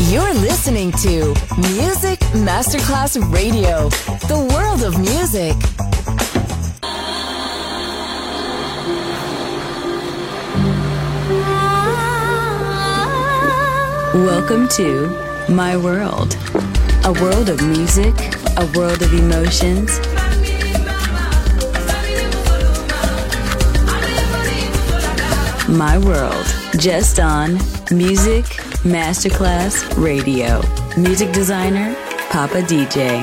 You're listening to Music Masterclass Radio, the world of music. Welcome to My World, a world of music, a world of emotions. My World, just on Music Masterclass Radio. Music designer, Papa DJ.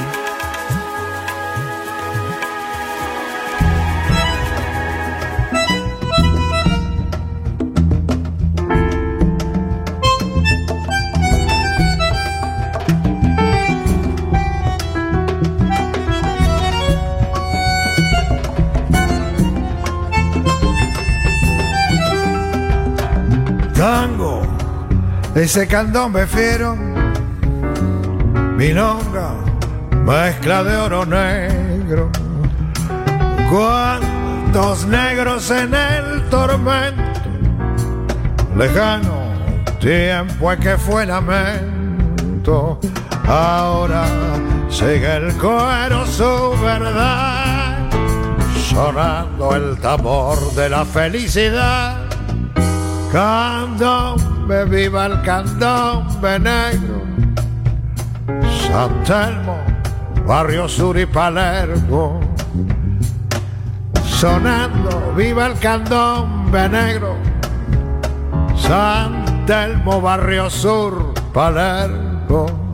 Tango, ese candombe fiero, milonga, mezcla de oro negro. Cuántos negros en el tormento, lejano tiempo en que fue lamento. Ahora sigue el cuero su verdad, sonando el tambor de la felicidad. Candombe, viva el candombe negro, San Telmo, Barrio Sur y Palermo. Sonando, viva el candombe negro, San Telmo, Barrio Sur, Palermo.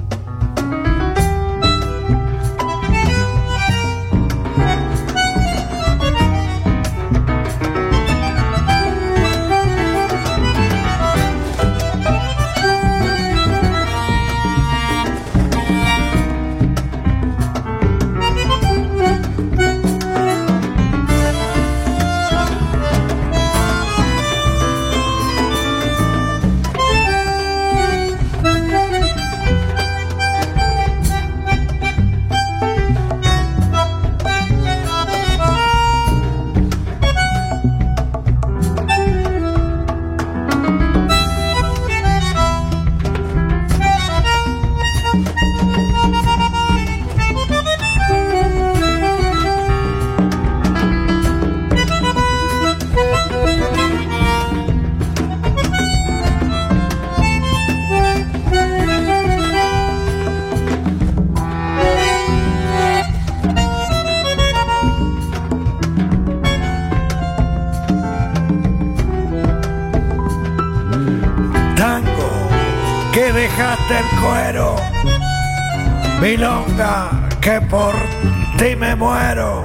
Que dejaste el cuero, milonga, que por ti me muero.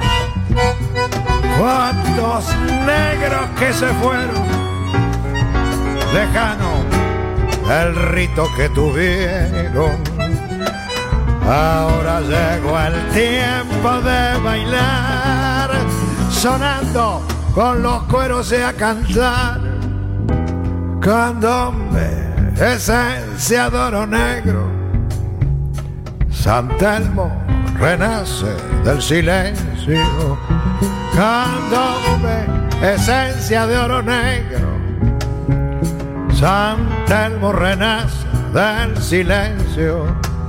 Cuántos negros que se fueron, lejano el rito que tuvieron. Ahora llegó el tiempo de bailar, sonando con los cueros y a cantar. Candombe, esencia de oro negro, San Telmo renace del silencio. Candombe, esencia de oro negro, San Telmo renace del silencio.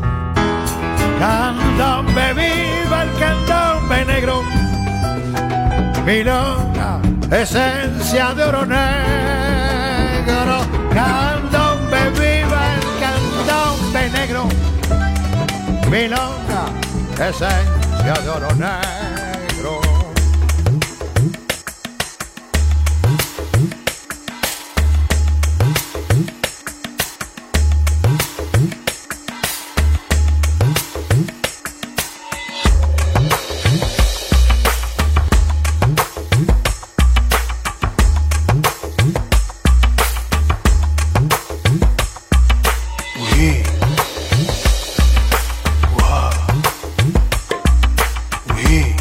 Candombe, viva el candombe negro, milonga, esencia de oro negro. Candombe, viva el candombe negro, milonga, esencia de oro negro. We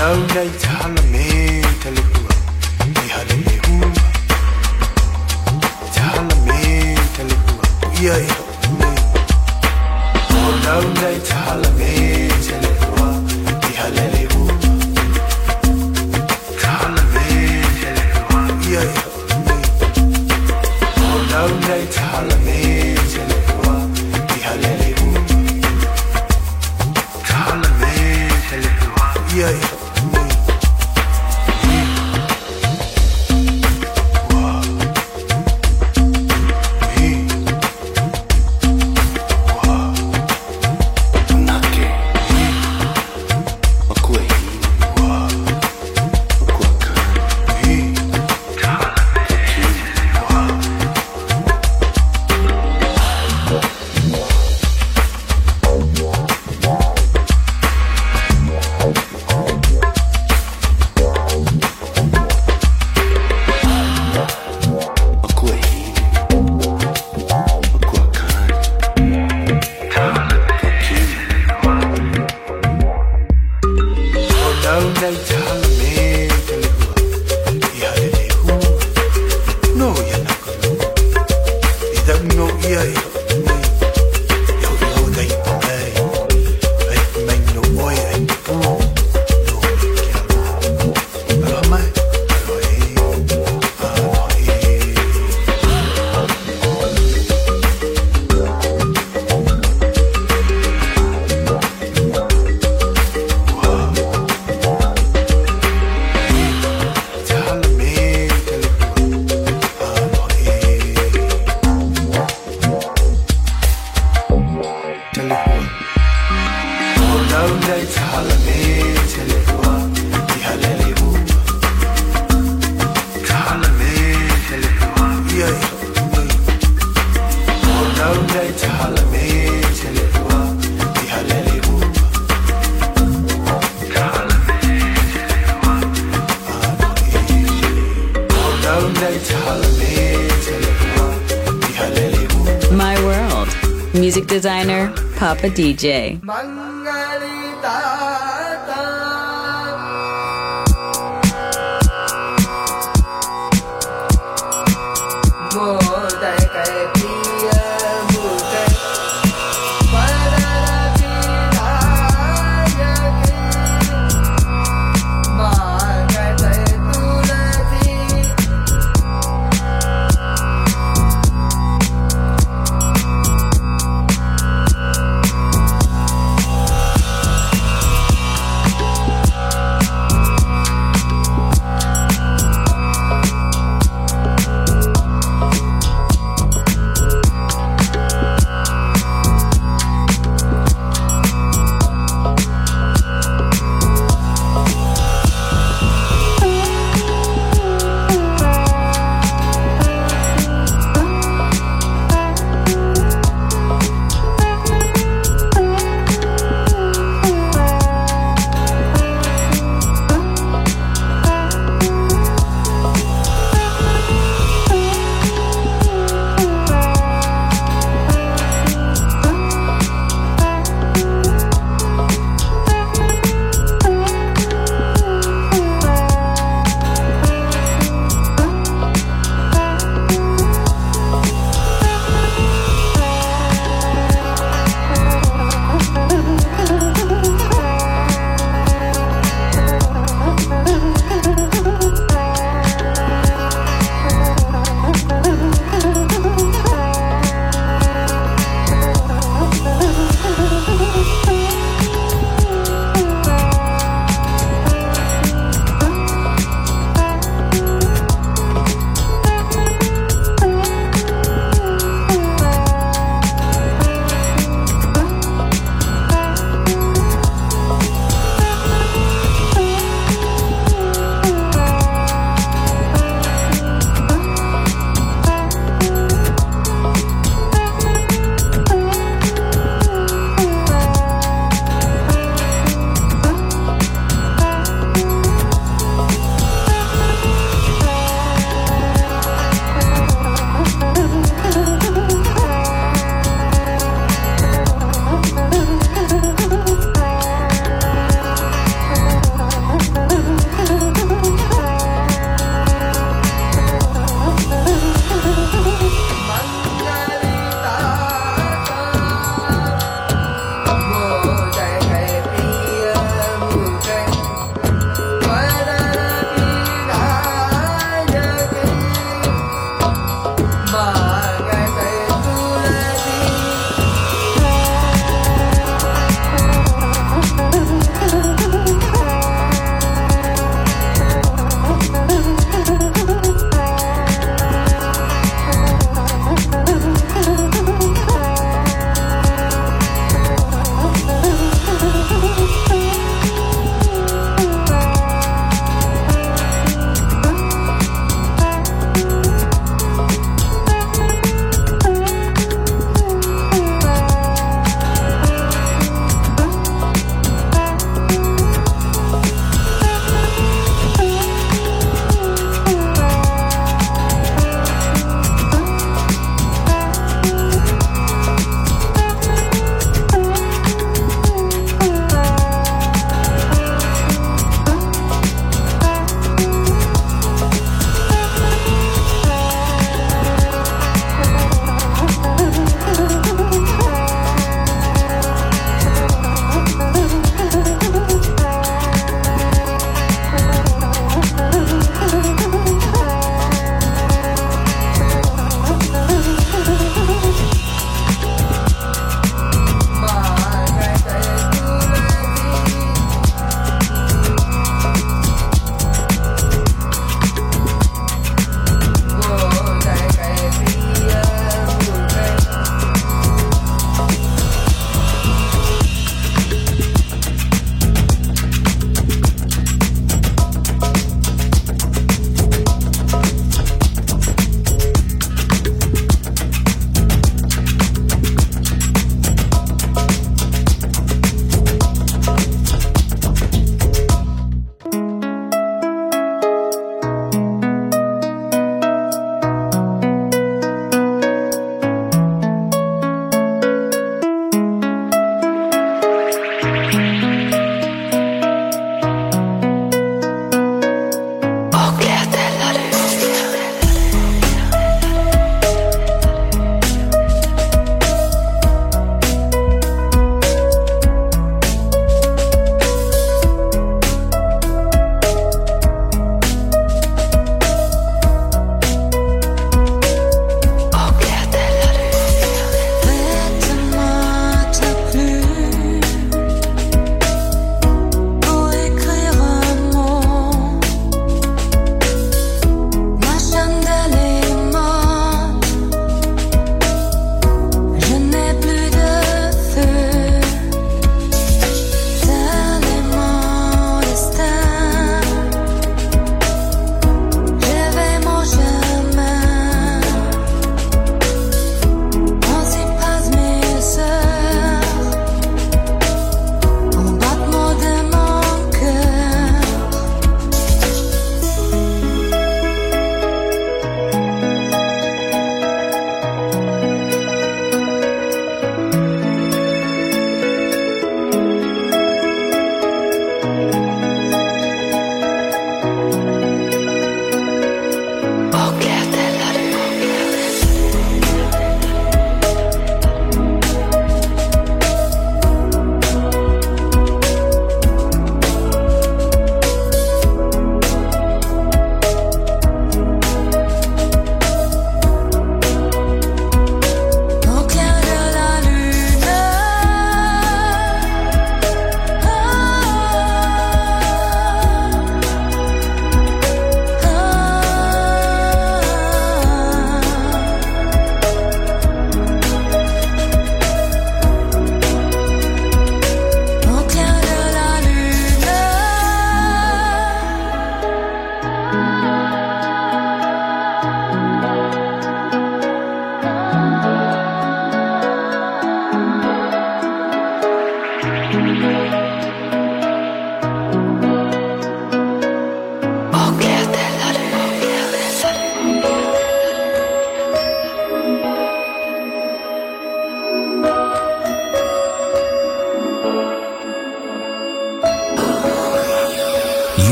My World. Music designer, Papa DJ.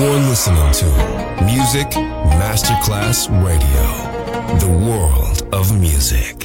You're listening to Music Masterclass Radio, the world of music.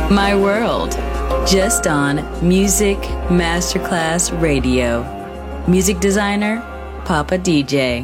My World, just on Music Masterclass Radio. Music designer, Papa DJ.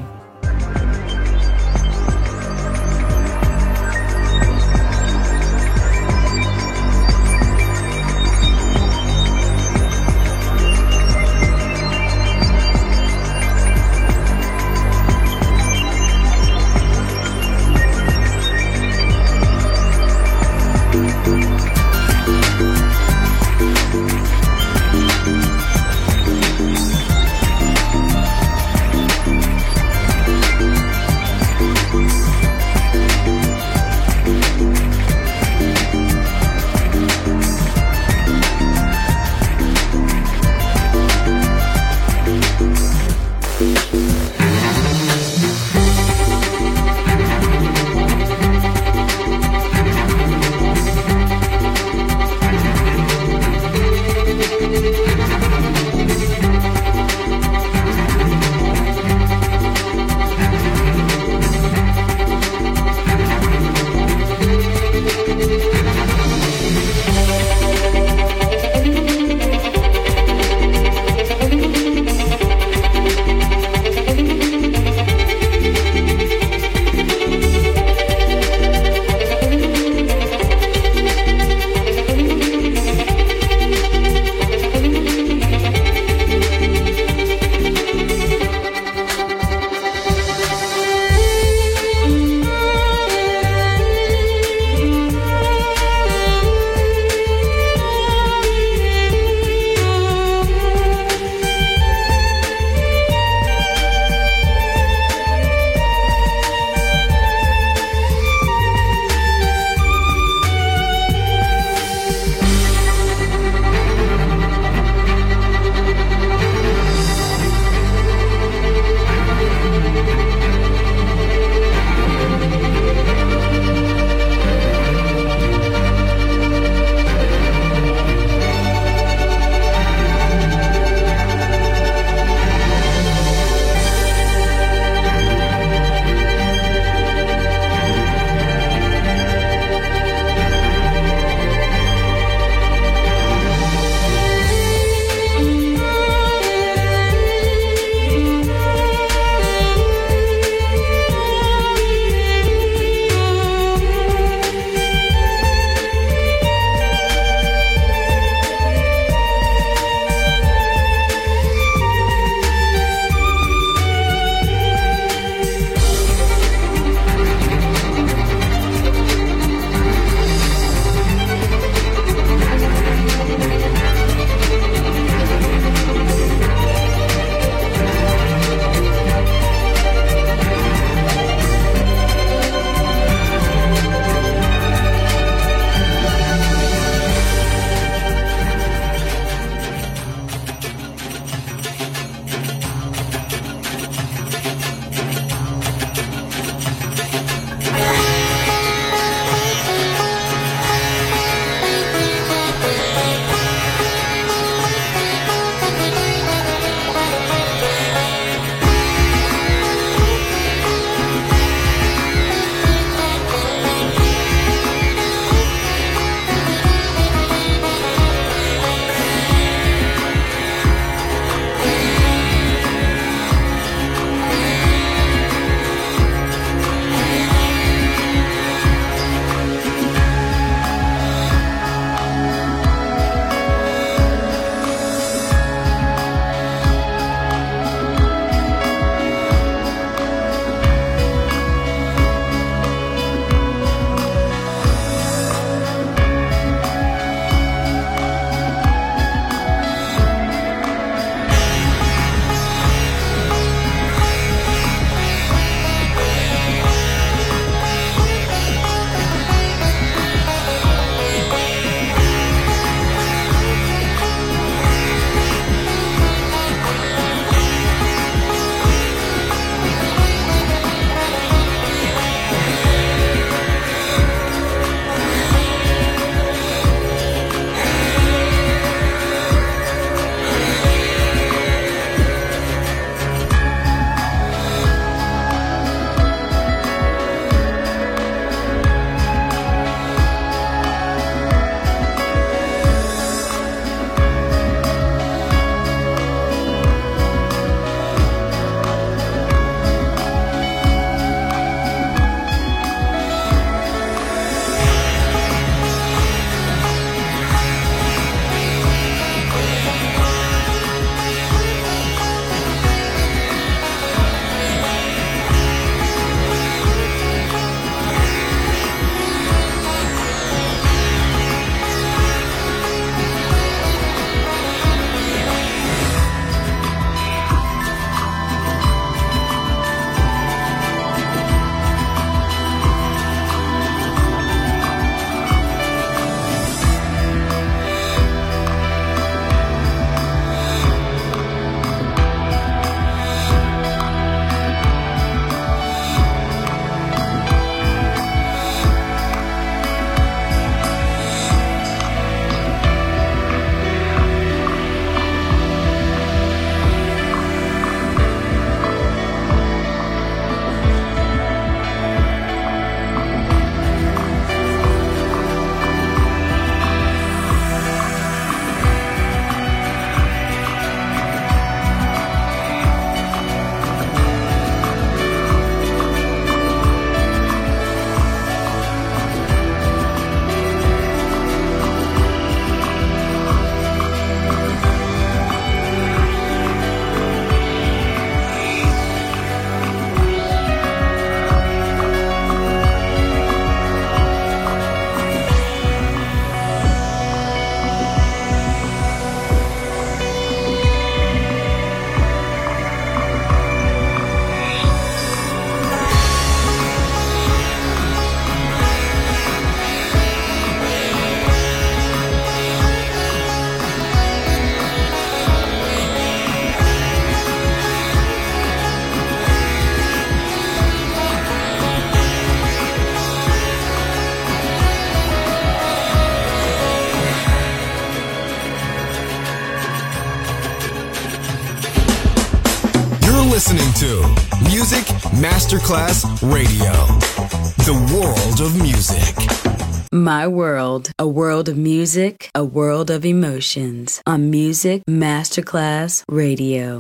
listening to Music Masterclass Radio, the world of music. My World, a world of music, a world of emotions on Music Masterclass Radio.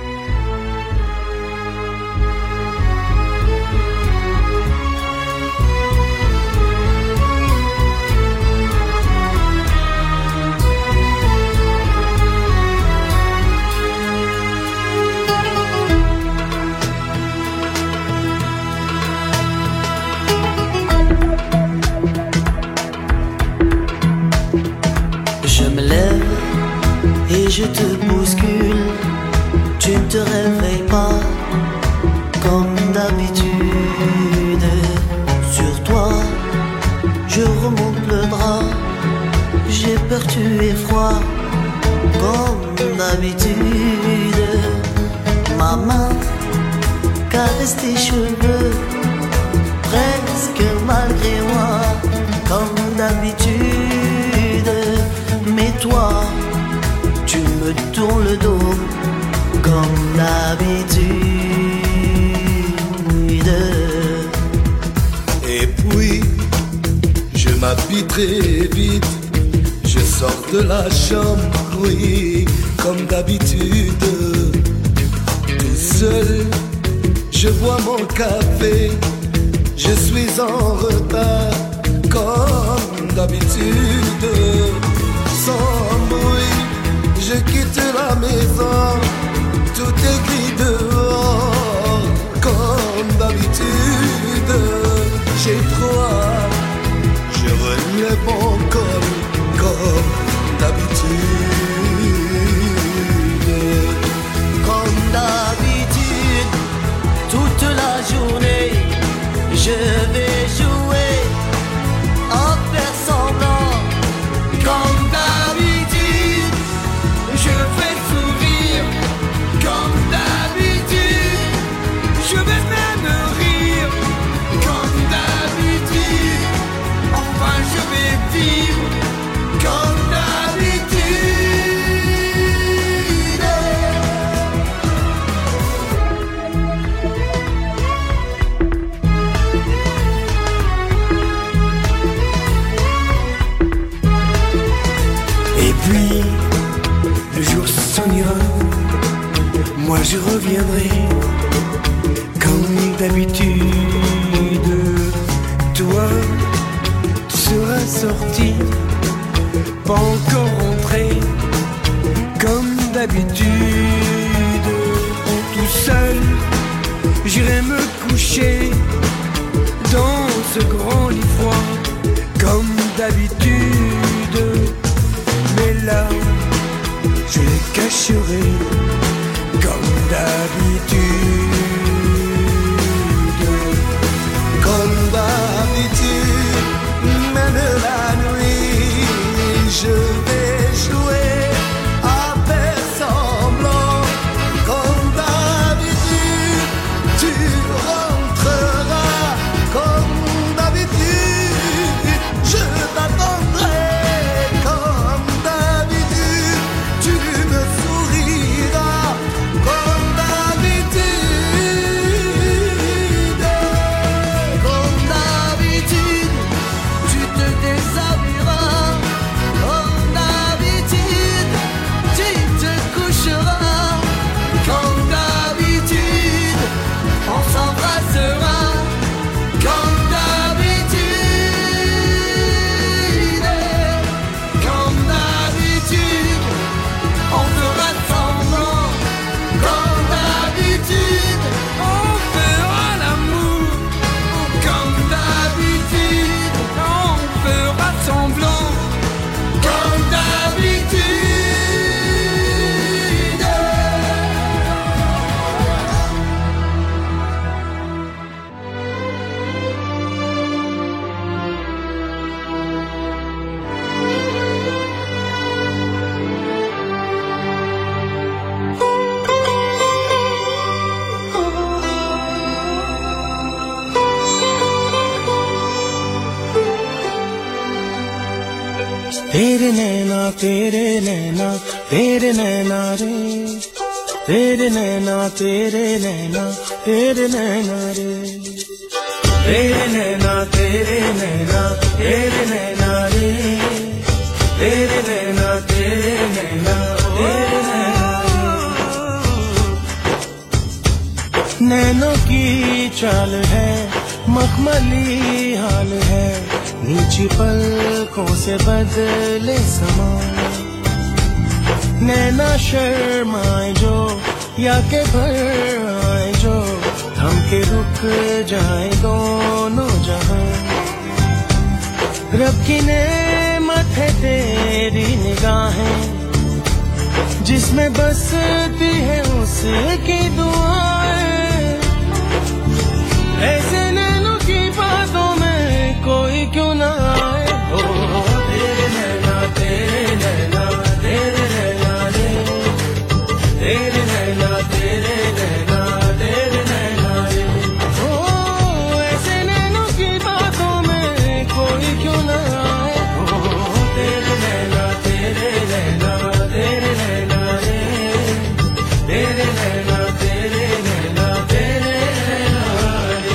Je te bouscule, tu ne te réveilles pas comme d'habitude. Sur toi, je remonte le drap, j'ai peur, tu es froid comme d'habitude. Ma main caresse tes cheveux, presque malgré moi, comme d'habitude. Mais toi, tu me tournes le dos comme d'habitude. Et puis, je m'habille très vite, je sors de la chambre, oui, comme d'habitude. Tout seul, je bois mon café, je suis en retard, comme d'habitude. Sans bruit, je quitte la maison, tout est gris dehors, comme d'habitude. J'ai froid, je relève mon col, comme d'habitude. Comme d'habitude, toute la journée, je vais jouer en faire semblant. Comme d'habitude, je vais sourire. Comme d'habitude, je vais même rire. Comme d'habitude, enfin je vais vivre. Comme moi je reviendrai comme d'habitude. Toi, tu seras sorti, pas encore rentré comme d'habitude. Tout seul, j'irai me coucher dans ce grand lit froid comme d'habitude. Mais là, je les cacherai comme d'habitude. Comme d'habitude, même la nuit, je vais jouer à faire semblant. Comme d'habitude, tu rentreras. Comme d'habitude, je t'attendrai. Comme d'habitude, tu me souriras. Comme d'habitude, comme d'habitude, tu te déshabilleras. Comme d'habitude, tu te coucheras. Comme d'habitude, on s'embrassera. Comme d'habitude, comme d'habitude, on fera semblant. Comme d'habitude, on fera l'amour. Comme d'habitude, on fera semblant. Comme d'habitude. तेरे नैना रे तेरे नैना तेरे नैना तेरे नैना रे तेरे नैना तेरे नैना तेरे नैना रे तेरे नैना तेरे नैना तेरे नैना नैनों की चाल है मखमली हाल है नीची पलकों से बदले समा नैना शर्माए जो या के भर आए जो थम के रुक जाए दोनों जहां रब की नेमत है तेरी निगाहें जिसमें बसती है उसकी दुआएं ऐसे नैनों की बातों में कोई क्यों ना आए ओ तेरे नैना तेरे नैना तेरे नैना रे तेरे नैना तेरे नैना तेरे नैना रे ओ ऐसे नैनों की बातों में कोई क्यों ना आए ओ तेरे नैना तेरे नैना तेरे नैना रे तेरे नैना तेरे नैना तेरे नैना रे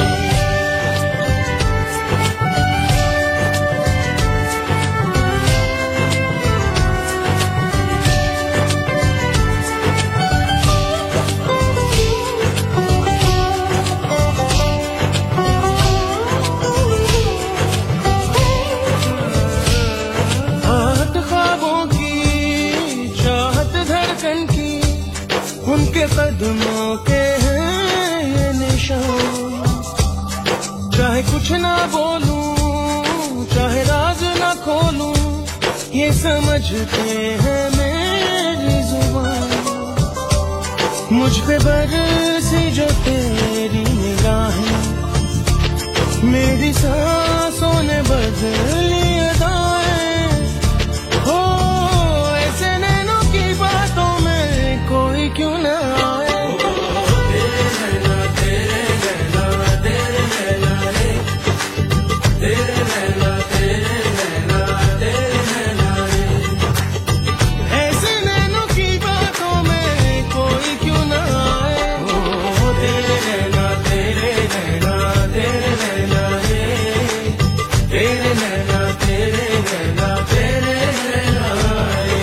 उनके कदमों के हैं ये निशान चाहे कुछ ना बोलूं चाहे राज ना खोलूं ये समझते हैं मेरी जुबान मुझ पे बरसी जो तेरी निगाहें मेरी सांसों ने बदली अदाएं हो ऐसे नैनों की बातों में कोई क्यों ना आए तेरे नैना तेरे नैना तेरे नैना रे तेरे नैना तेरे नैना तेरे नैना रे ऐसे नैनों की बातों में कोई क्यों ना आए ओ तेरे नैना तेरे नैना तेरे नैना रे तेरे नैना तेरे नैना तेरे नैना रे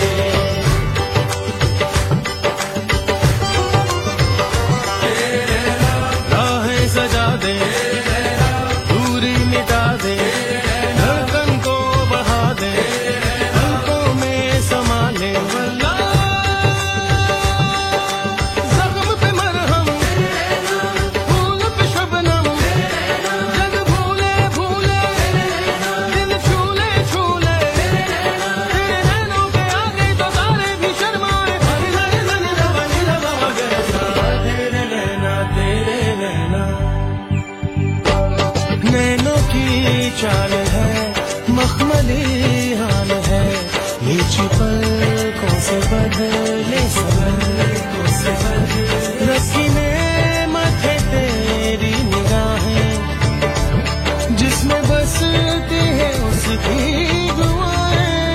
सजा दे दूरी मिटा दे धड़कन को बढ़ा दे पलकों में समा ले जख्म पे मरहम फूल पे शबनम जग भूले भूले दिल छूले छूले तेरे नैनों पे आगे तो तारे भी शर्माए तेरे नैना तेरे नैना नैनों की चाल है मखमली हाल है नीची पलकों से बदले सबकों से रस्सी नेमत है तेरी निगाहें जिसमें बसती है उसकी दुआएं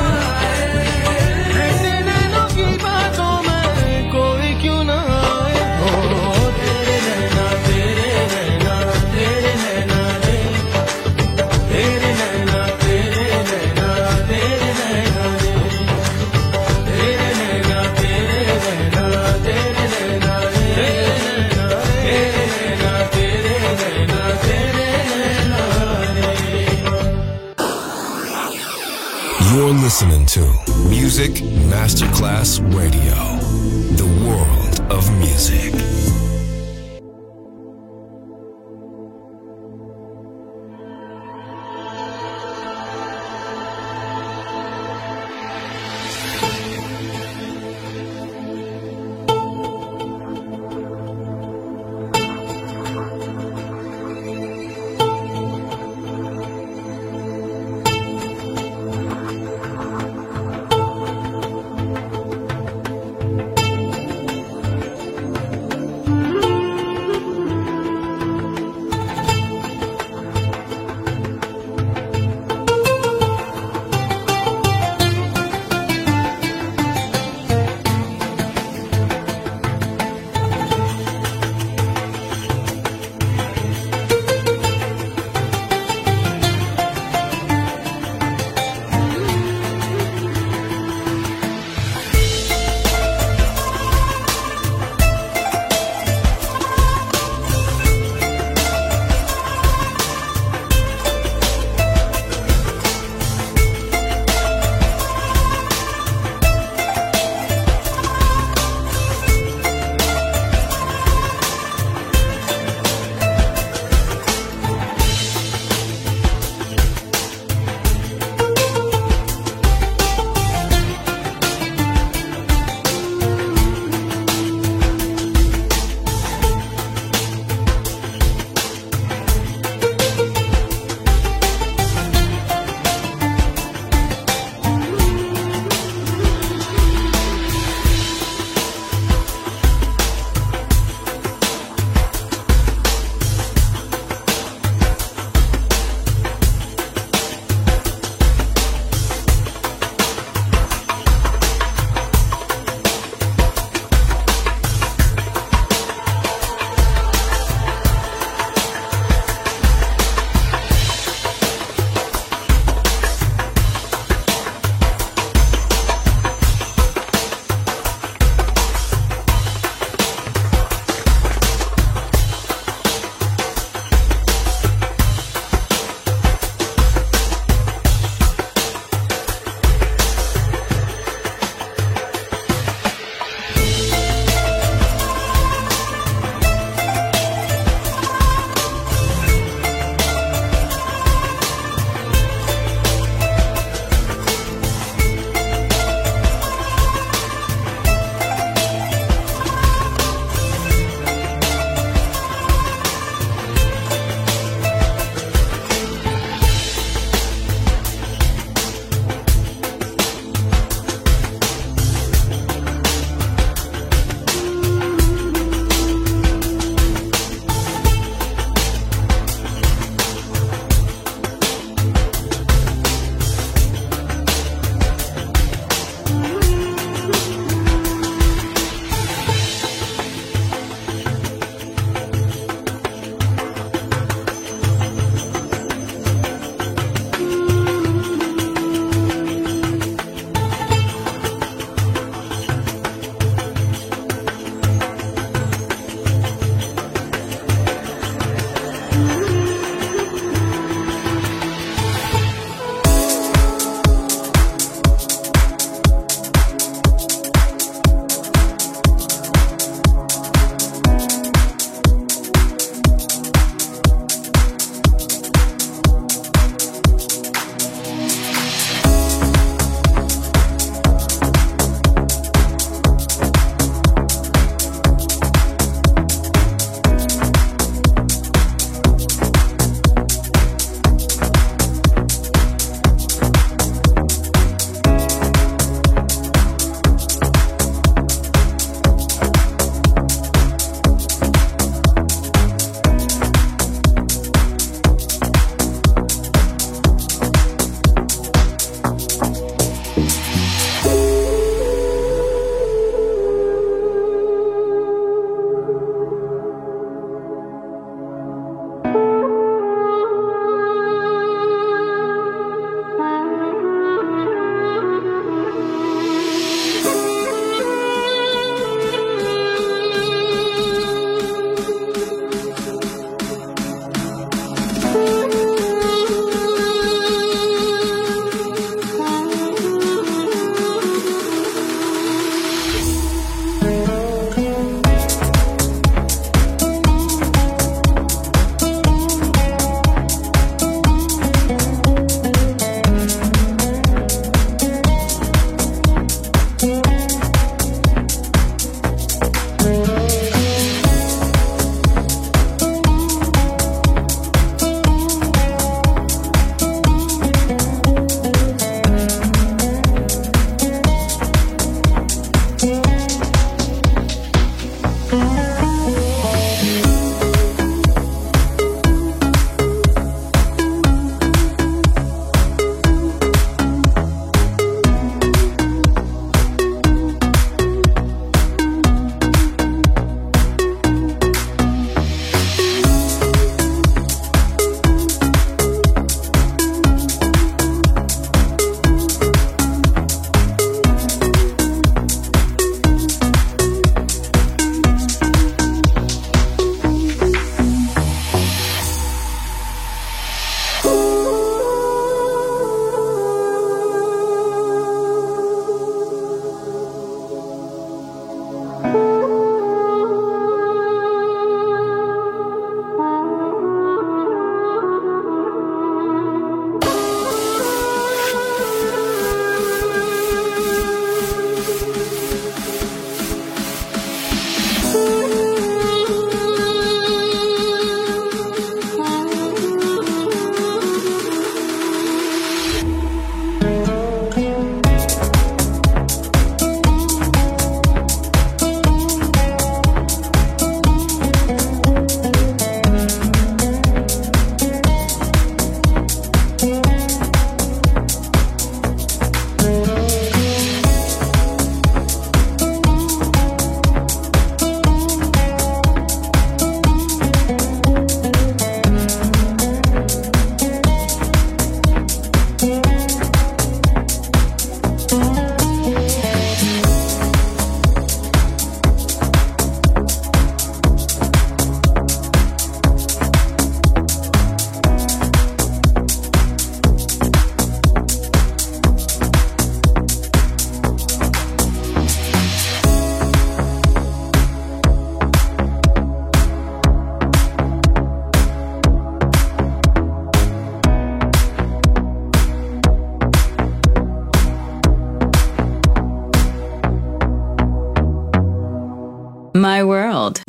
ऐसे नैनों की बातों में कोई क्यों ना आए ओ तेरे नैना तेरे नैना तेरे नैना रे तेरे नैना तेरे नैना तेरे नैना रे तेरे नैना तेरे नैना तेरे नैना रे तेरे नैना तेरे नैना तेरे नैना रे You're listening to Music Masterclass Radio, the world of music.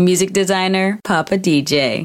Music designer, Papa DJ.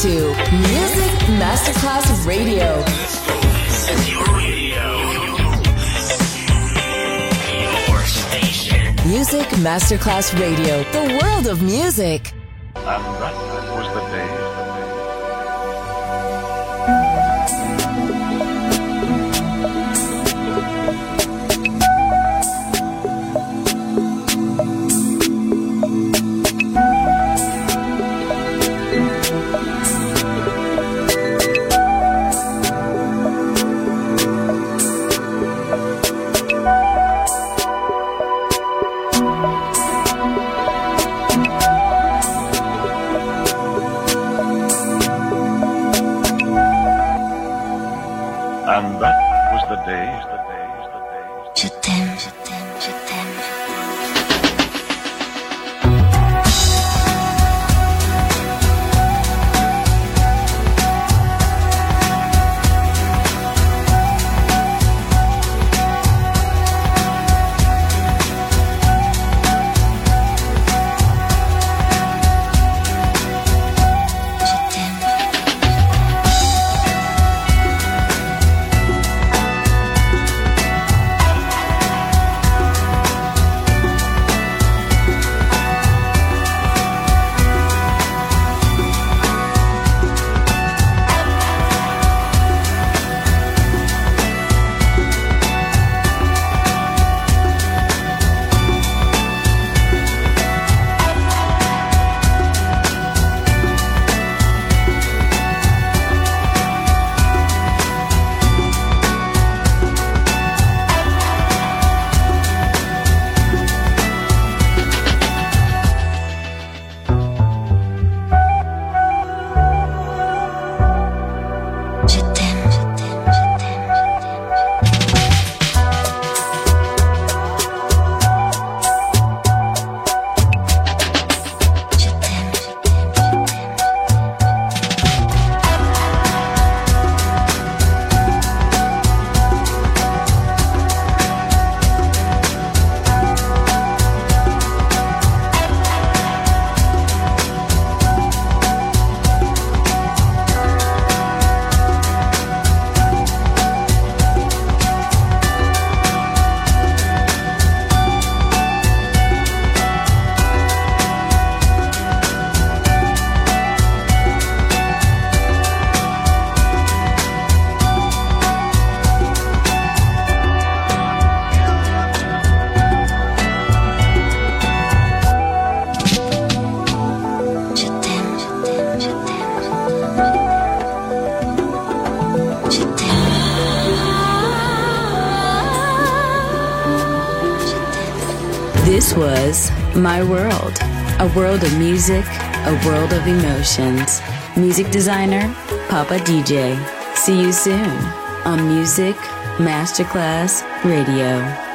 to Music Masterclass Radio. Music Masterclass Radio, the world of music. And that was the day. And that was the day. Je t'aime, je t'aime, je t'aime. This was My World, a world of music, a world of emotions. Music designer, Papa DJ. See you soon on Music Masterclass Radio.